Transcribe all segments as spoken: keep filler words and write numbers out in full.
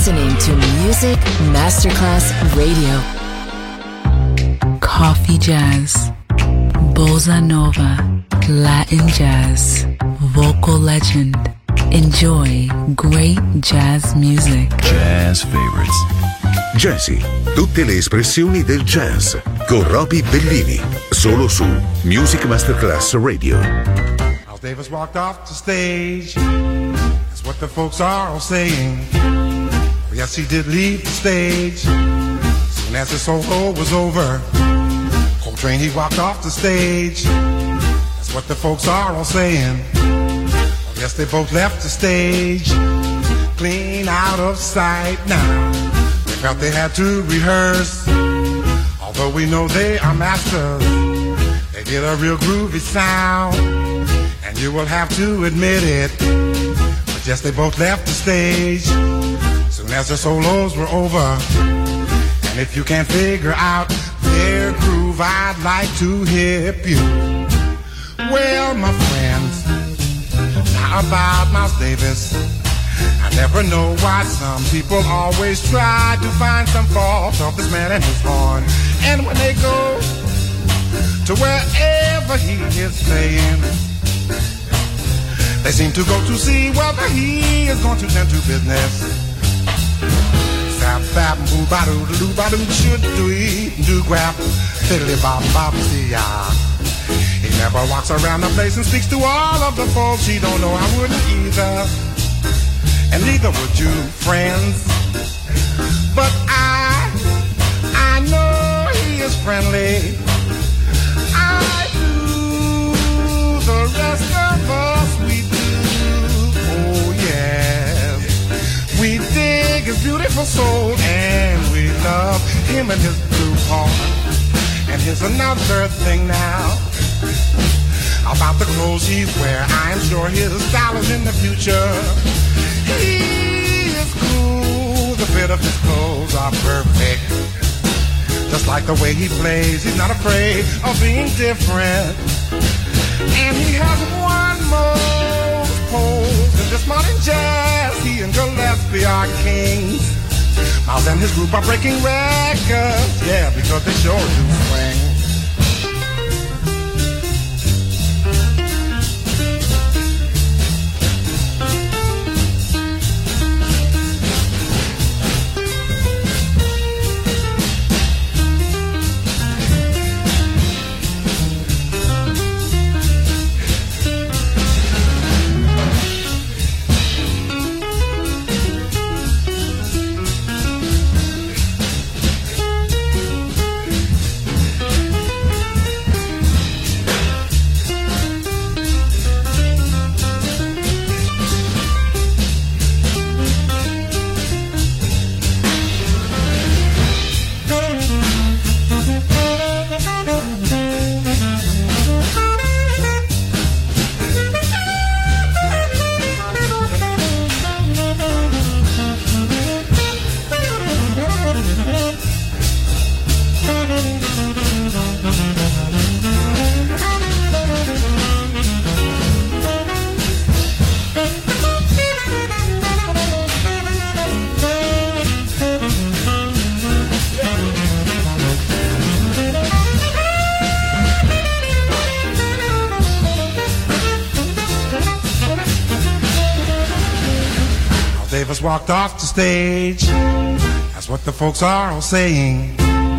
listening to Music Masterclass Radio. Coffee jazz, bossa nova, Latin jazz, vocal legend. Enjoy great jazz music. Jazz favorites. Jazzy, tutte le espressioni del jazz con Roby Bellini, solo su Music Masterclass Radio. Miles Davis walked off the stage. That's what the folks are all saying. Yes, he did leave the stage. Soon as his solo was over, Coltrane, he walked off the stage. That's what the folks are all saying. Yes, they both left the stage, clean out of sight now. They felt they had to rehearse, although we know they are masters. They did a real groovy sound, and you will have to admit it. But yes, they both left the stage, soon as the solos were over. And if you can't figure out their groove, I'd like to hip you. Well, my friends, about Miles Davis, I never know why some people always try to find some fault of this man and his horn. And when they go to wherever he is playing, they seem to go to see whether he is going to tend to business. Zap, bap, boo, ba, doo, doo, ba, doo, should do, do, grab, fiddly, bop, bop, see ya. He never walks around the place and speaks to all of the folks he don't know. I wouldn't either, and neither would you, friends. But I, I know he is friendly. I do, the rest of us, we do. Oh yes, we dig his beautiful soul, and we love him and his blue horn. And here's another thing now about the clothes he wears. I'm sure his style is in the future. He is cool, the fit of his clothes are perfect. Just like the way he plays, he's not afraid of being different. And he has one most pose in this modern jazz. He and Gillespie are kings. Miles and his group are breaking records, yeah, because they sure do swing. Davis walked off the stage. That's what the folks are all saying.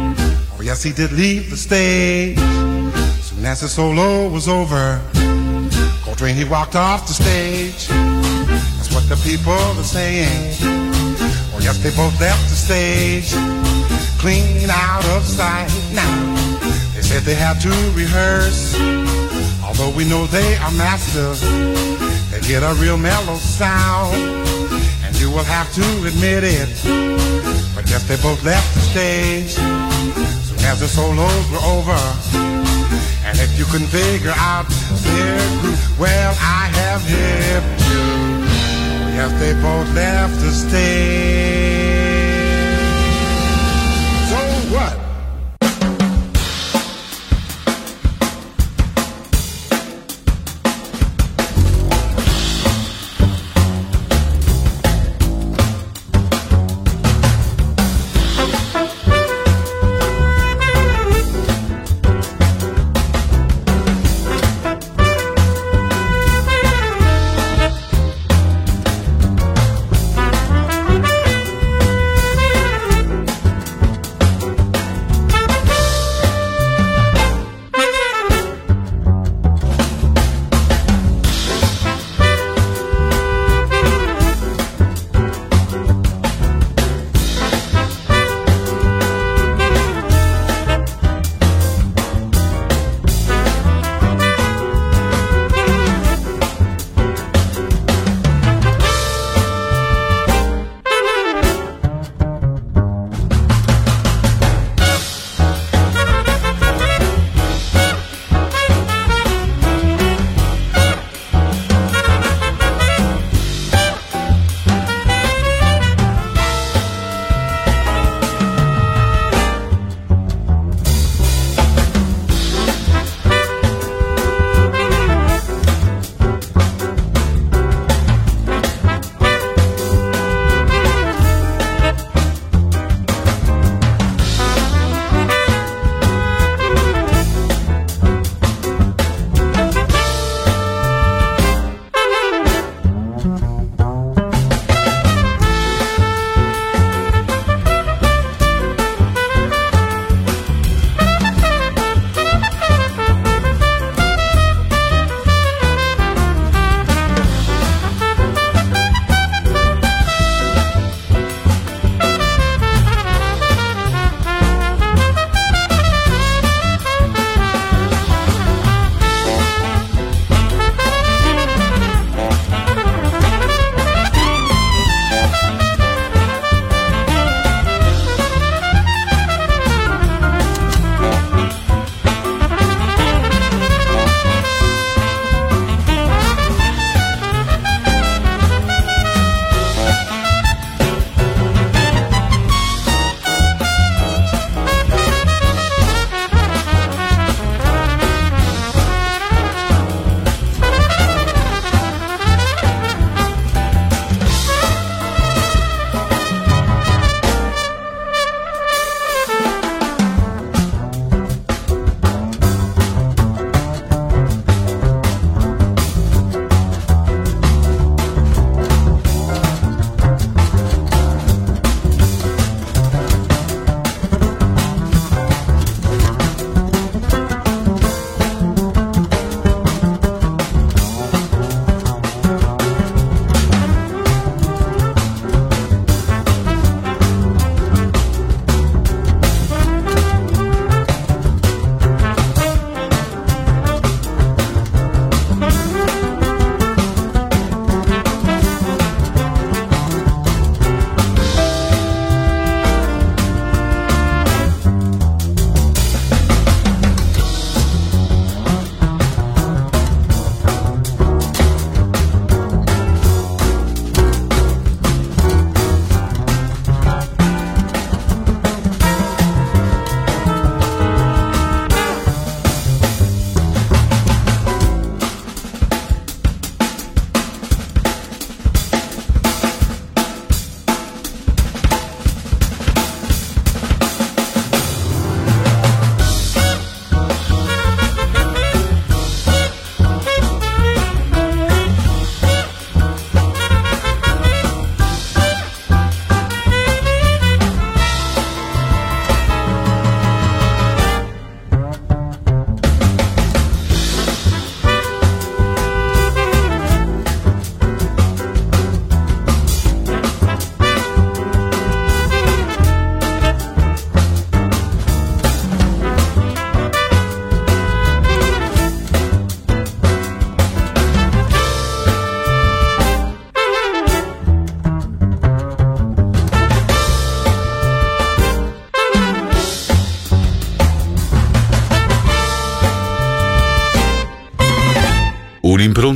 Oh yes, he did leave the stage. Soon as his solo was over, Coltrane, he walked off the stage. That's what the people are saying. Oh yes, they both left the stage, clean out of sight now. They said they had to rehearse, although we know they are masters. They get a real mellow sound, you will have to admit it. But yes, they both left the stage soon as the solos were over. And if you couldn't figure out their groove, well, I have hipped you. Yes, they both left the stage. So what?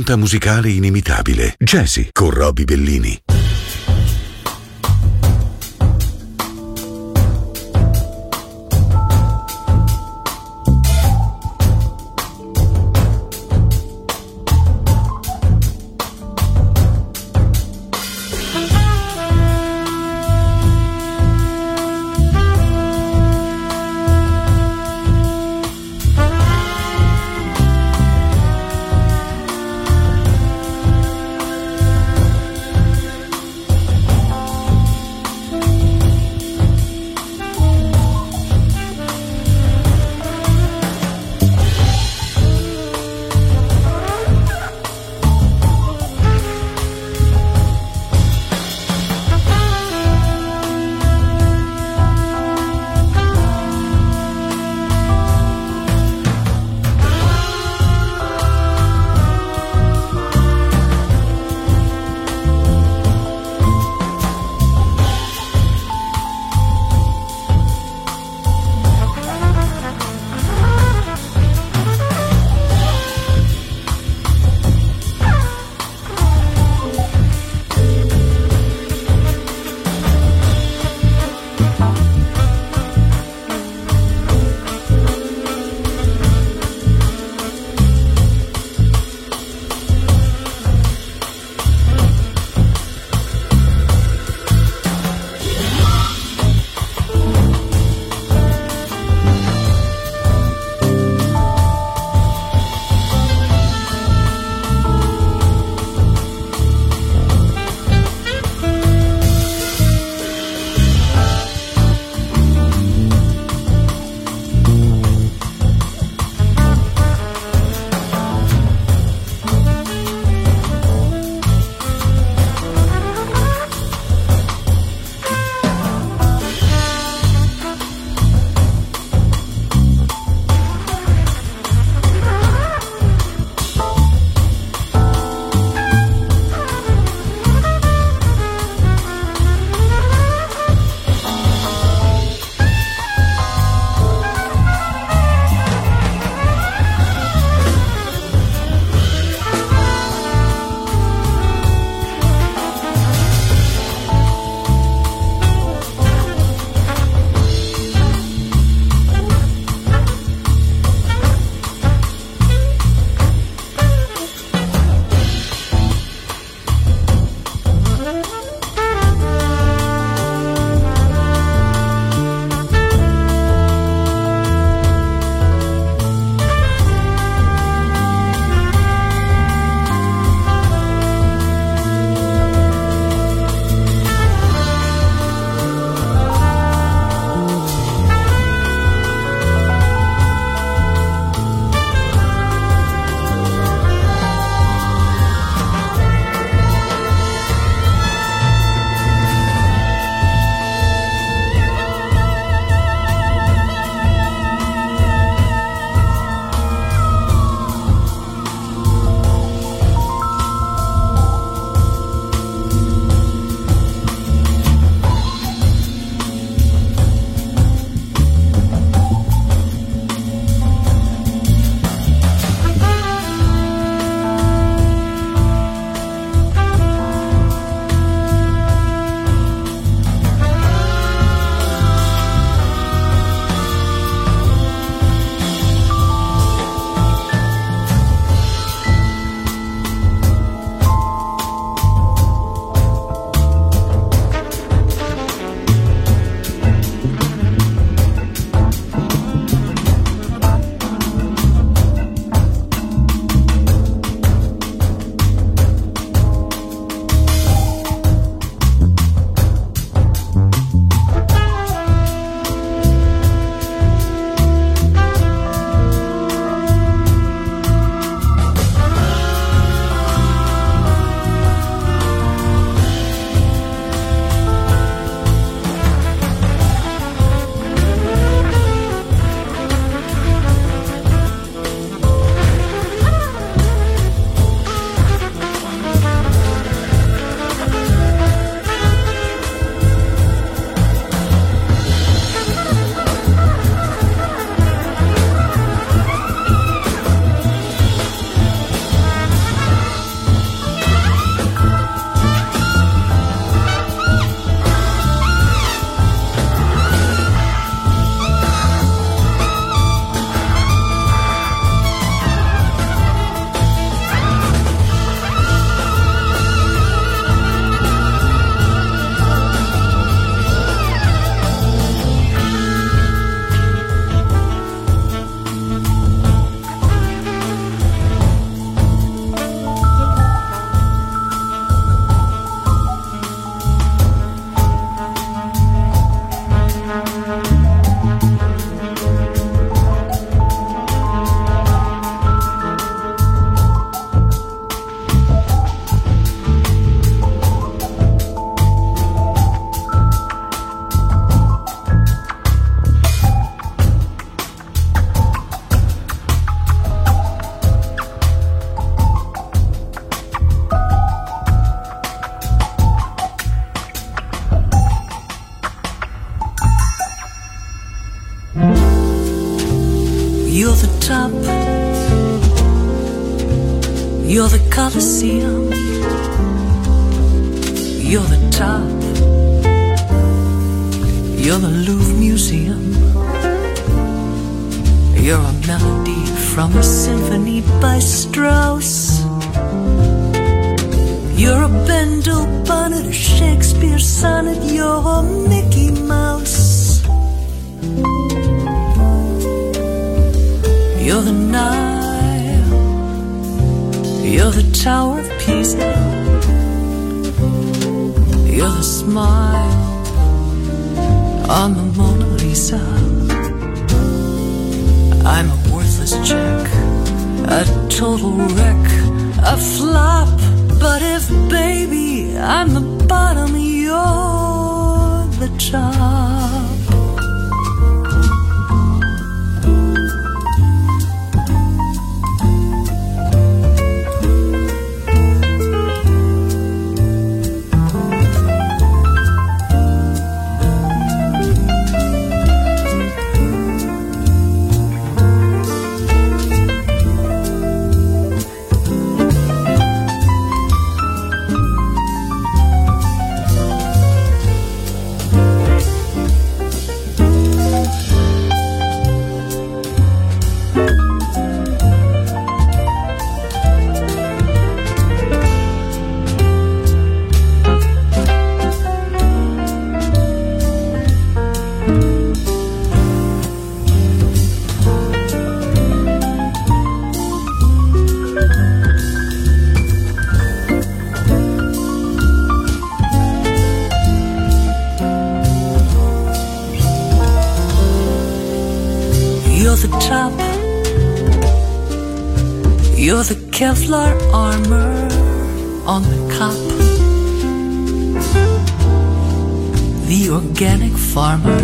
un'impronta musicale inimitabile. Jazzy con Robbie Bellini. You're the Colosseum, you're the top, you're the Louvre Museum, you're a melody from a symphony by Strauss. You're a Bendel bonnet, a Shakespeare sonnet, you're a Mickey Mouse. You're the Nile, you're the Tower of Pisa, you're the smile on the Mona Lisa. I'm a worthless check, a total wreck, a flop. But if, baby, I'm the bottom, you're the top. You're the Kevlar armor on the cop, the organic farmer.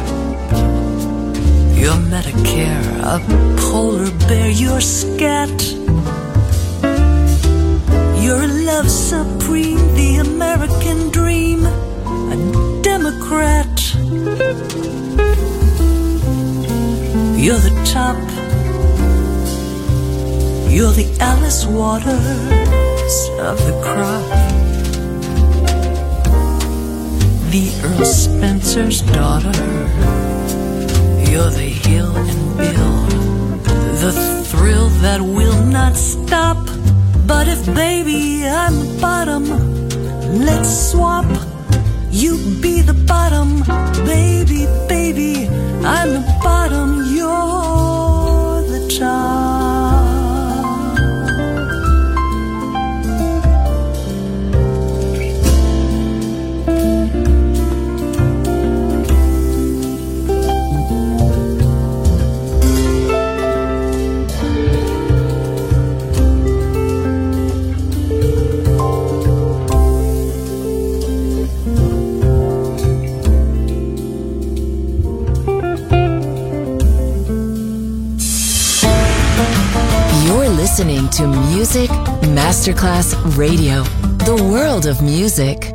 You're Medicare, a polar bear, you're scat. You're a love supreme, the American dream, a Democrat. You're the top, you're the Alice Waters of the crop, the Earl Spencer's daughter. You're the Hill and Bill, the thrill that will not stop. But if, baby, I'm the bottom, let's swap. You be the bottom, baby, baby, I'm the bottom, you're the top. Listening to Music Masterclass Radio, the world of music.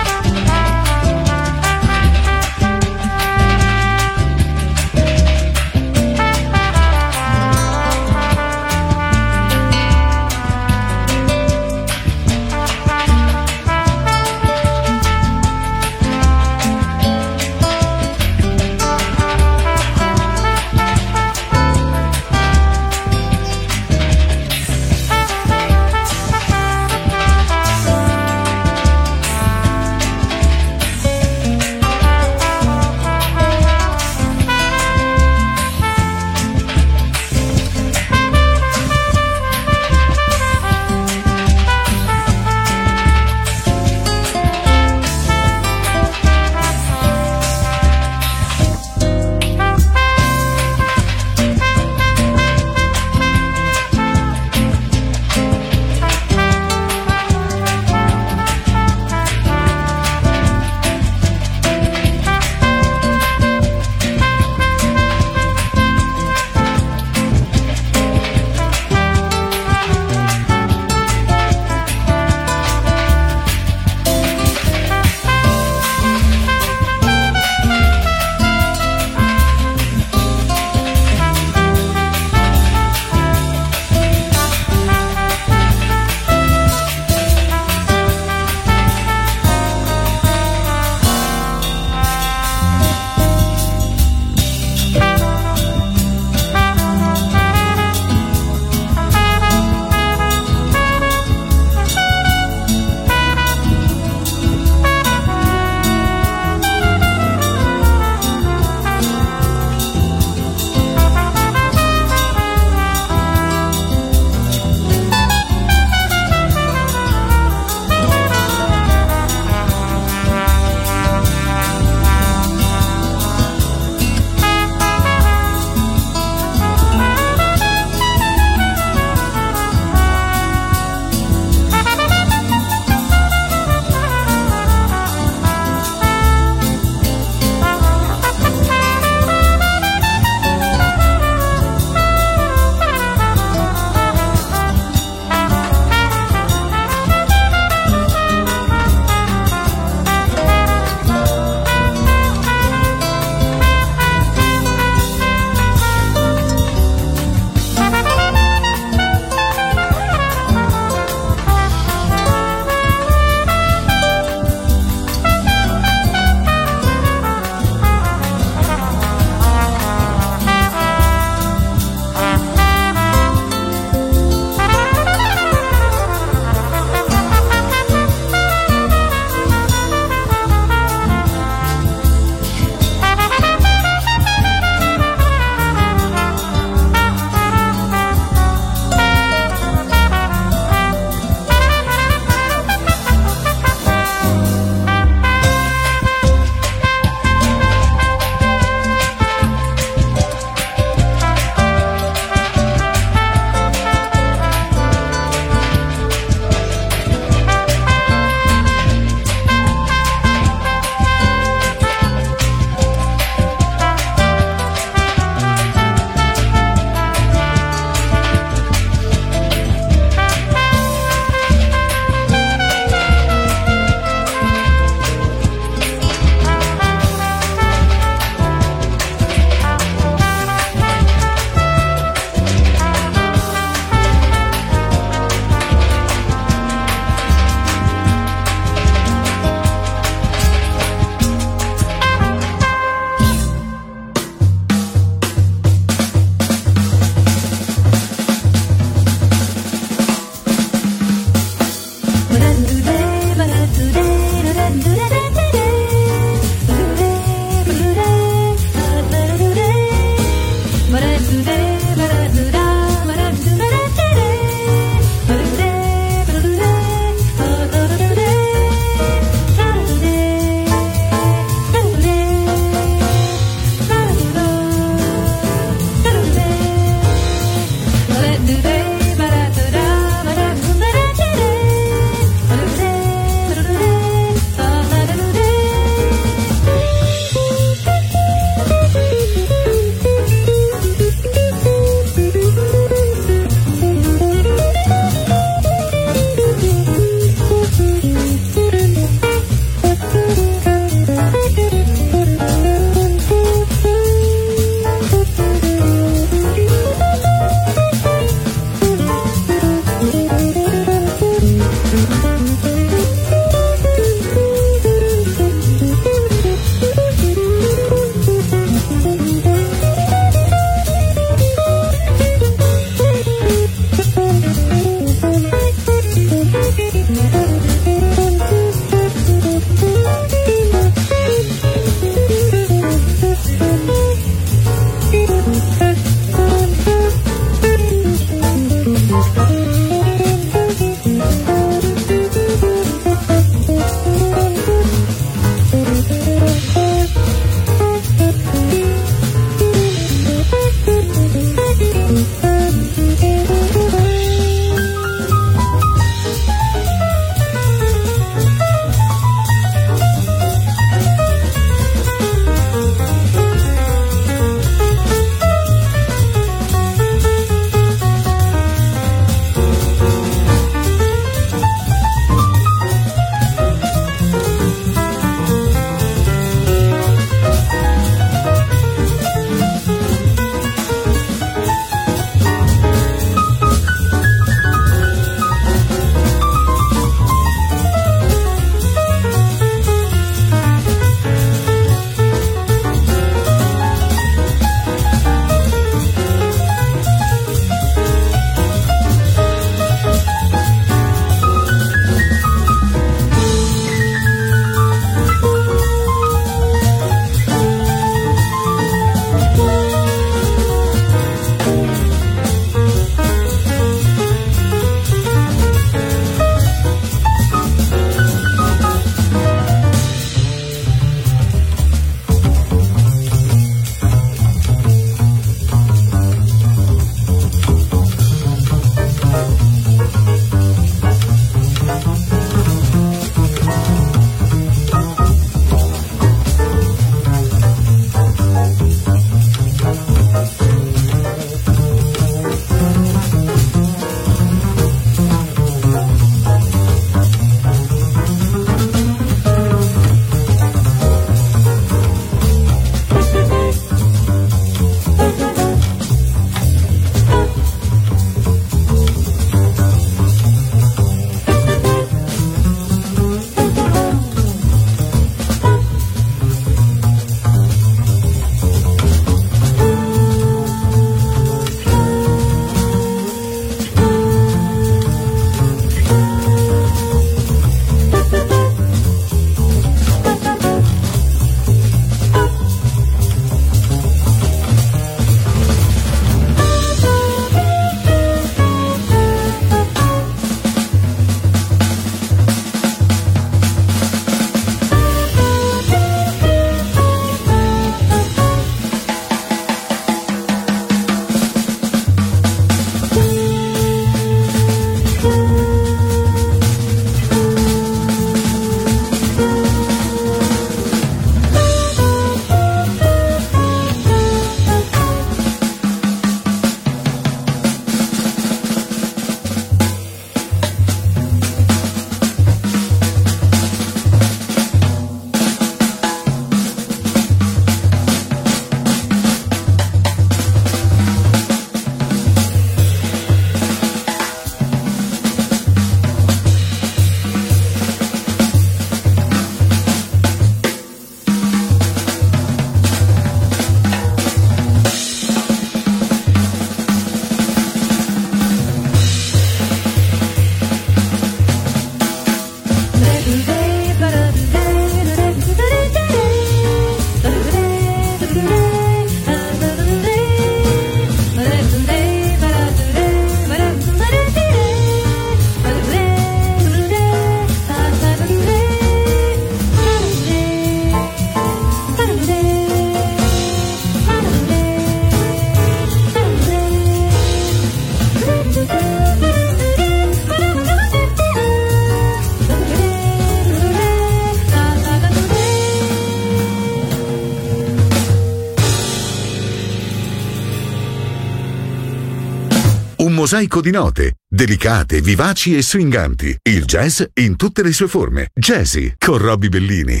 Un mosaico di note, delicate, vivaci e swinganti. Il jazz in tutte le sue forme. Jazzy con Robbie Bellini.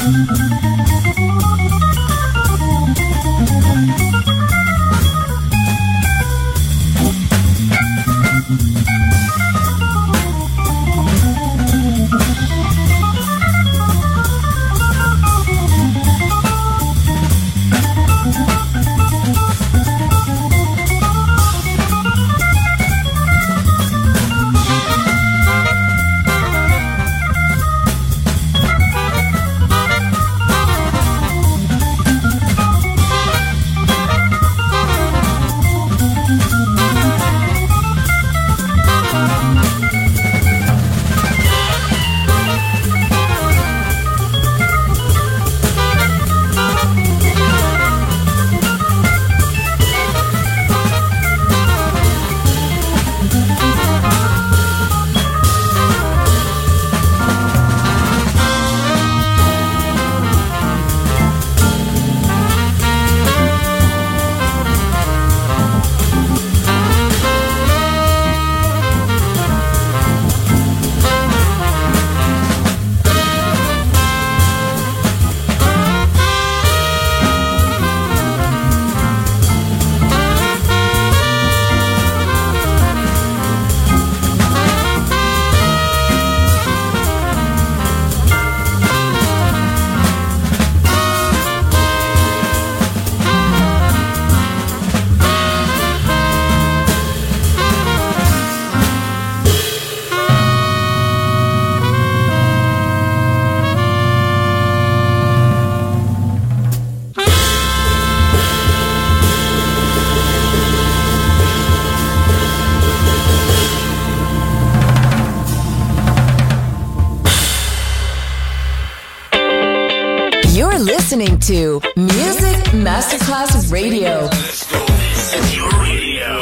listening to Music Masterclass Radio. Let's go. This is your radio.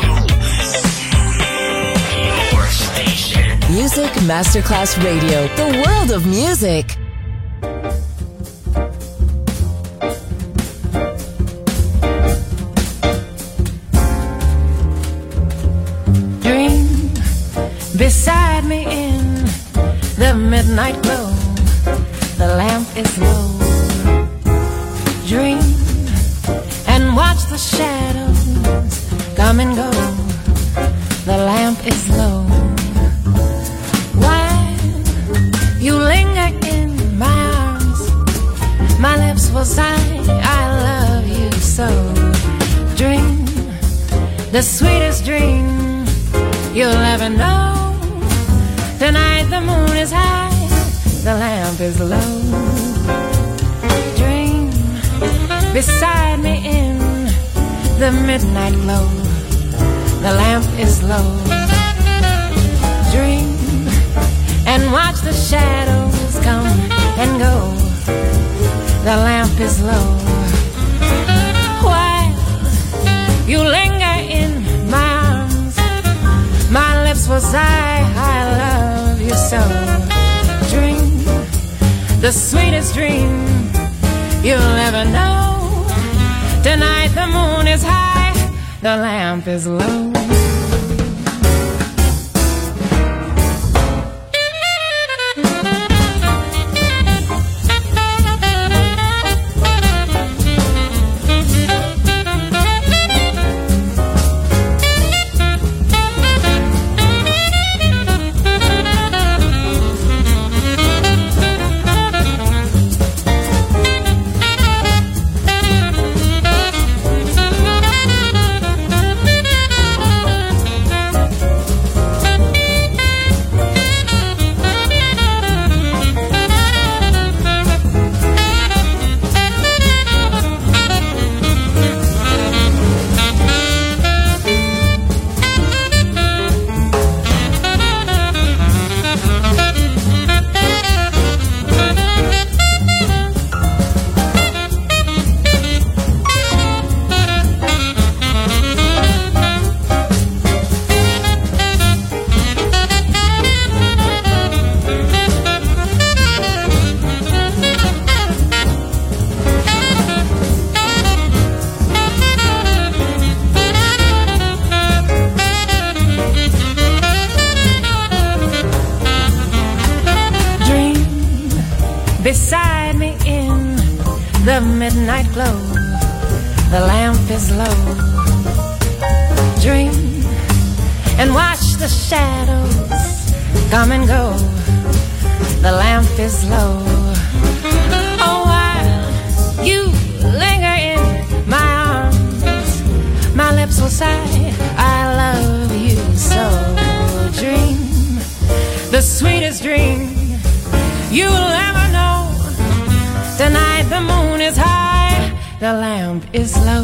Your station. Music Masterclass Radio. The world of music. Dream beside me in the midnight glow. The lamp is low. Dream and watch the shadows come and go. The lamp is low. While you linger in my arms, my lips will sigh, I love you so. Dream the sweetest dream you'll ever know. Tonight the moon is high, the lamp is low. Dream beside me in the midnight glow. The lamp is low. Dream and watch the shadows come and go. The lamp is low. While you linger in my arms, my lips will sigh, I love you so. Dream the sweetest dream you'll ever know. Tonight the moon is high, the lamp is low. beside me in the midnight glow. The lamp is low. Dream and watch the shadows come and go. The lamp is low. Oh, while you linger in my arms, my lips will sigh, I love you so. Dream the sweetest dream you'll ever know. Tonight the moon is high, the lamp is low.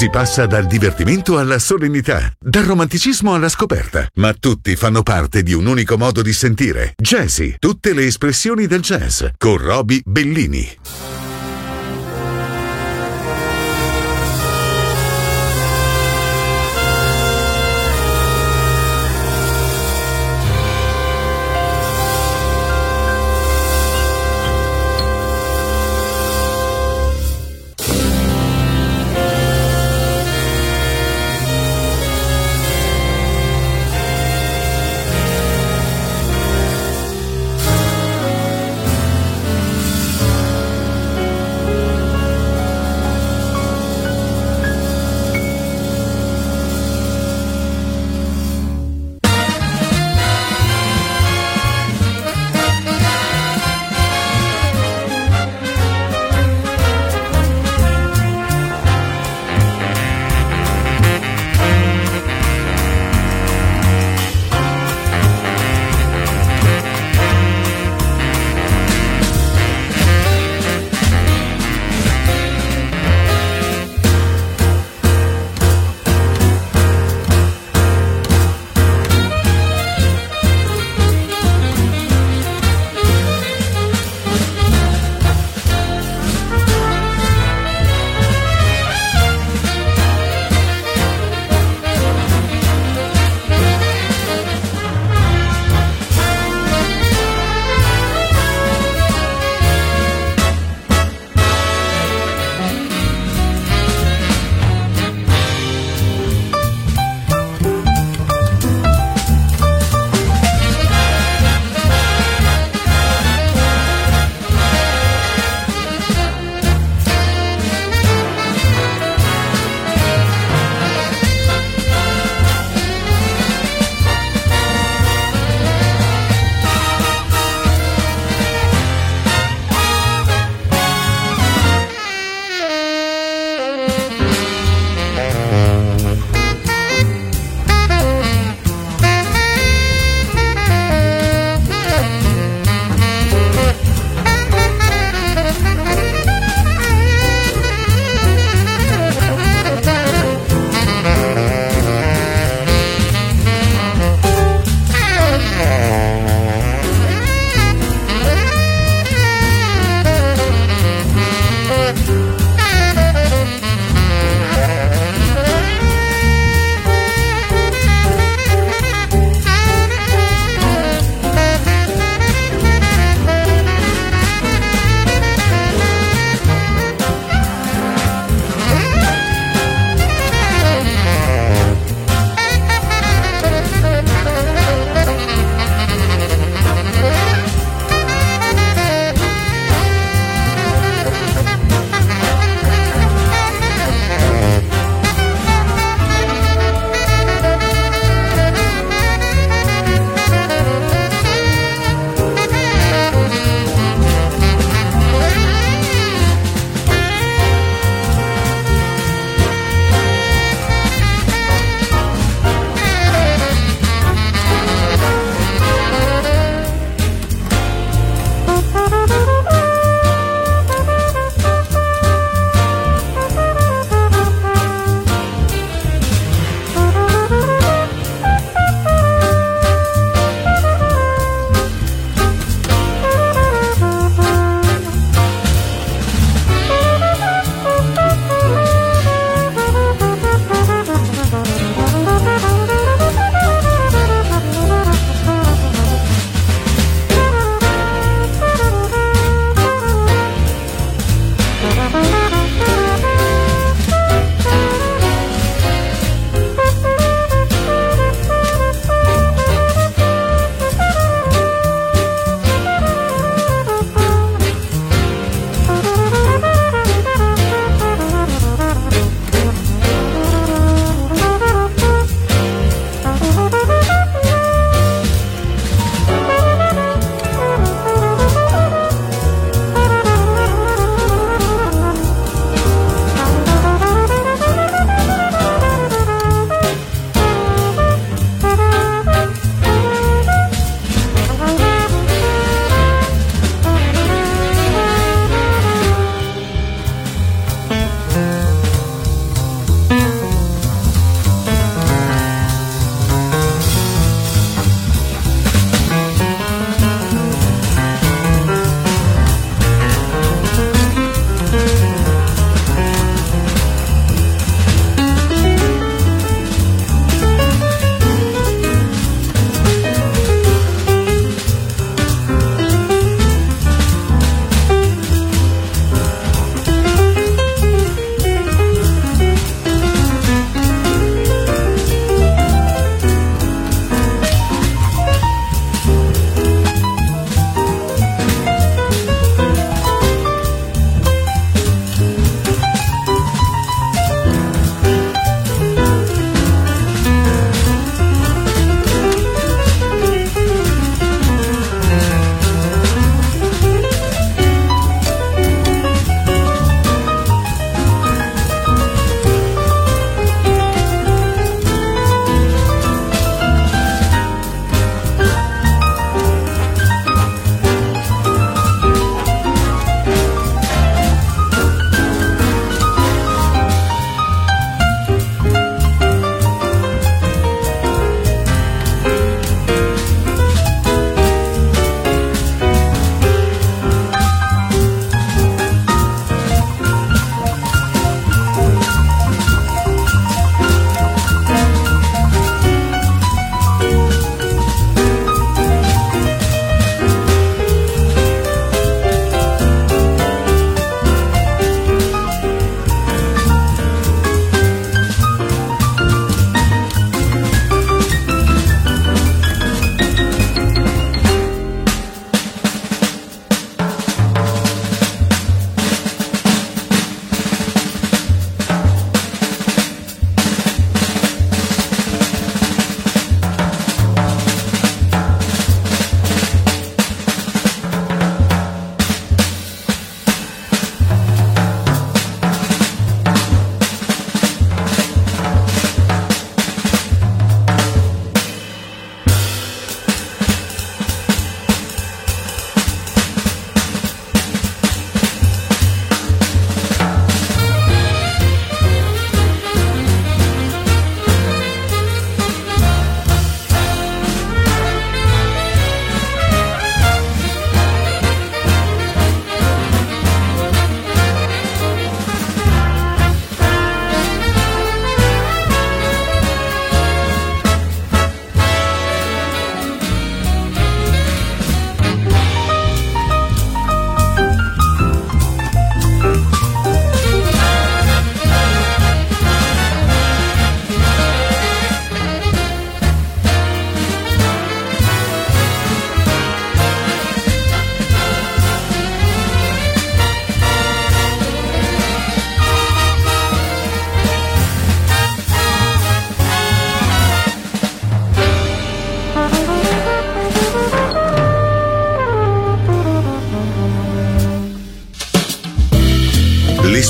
Si passa dal divertimento alla solennità, dal romanticismo alla scoperta, ma tutti fanno parte di un unico modo di sentire. Jazzy, tutte le espressioni del jazz, con Roby Bellini.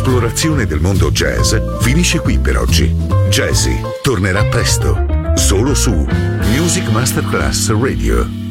esplorazione del mondo jazz finisce qui per oggi. Jazzy tornerà presto, solo su Music Masterclass Radio.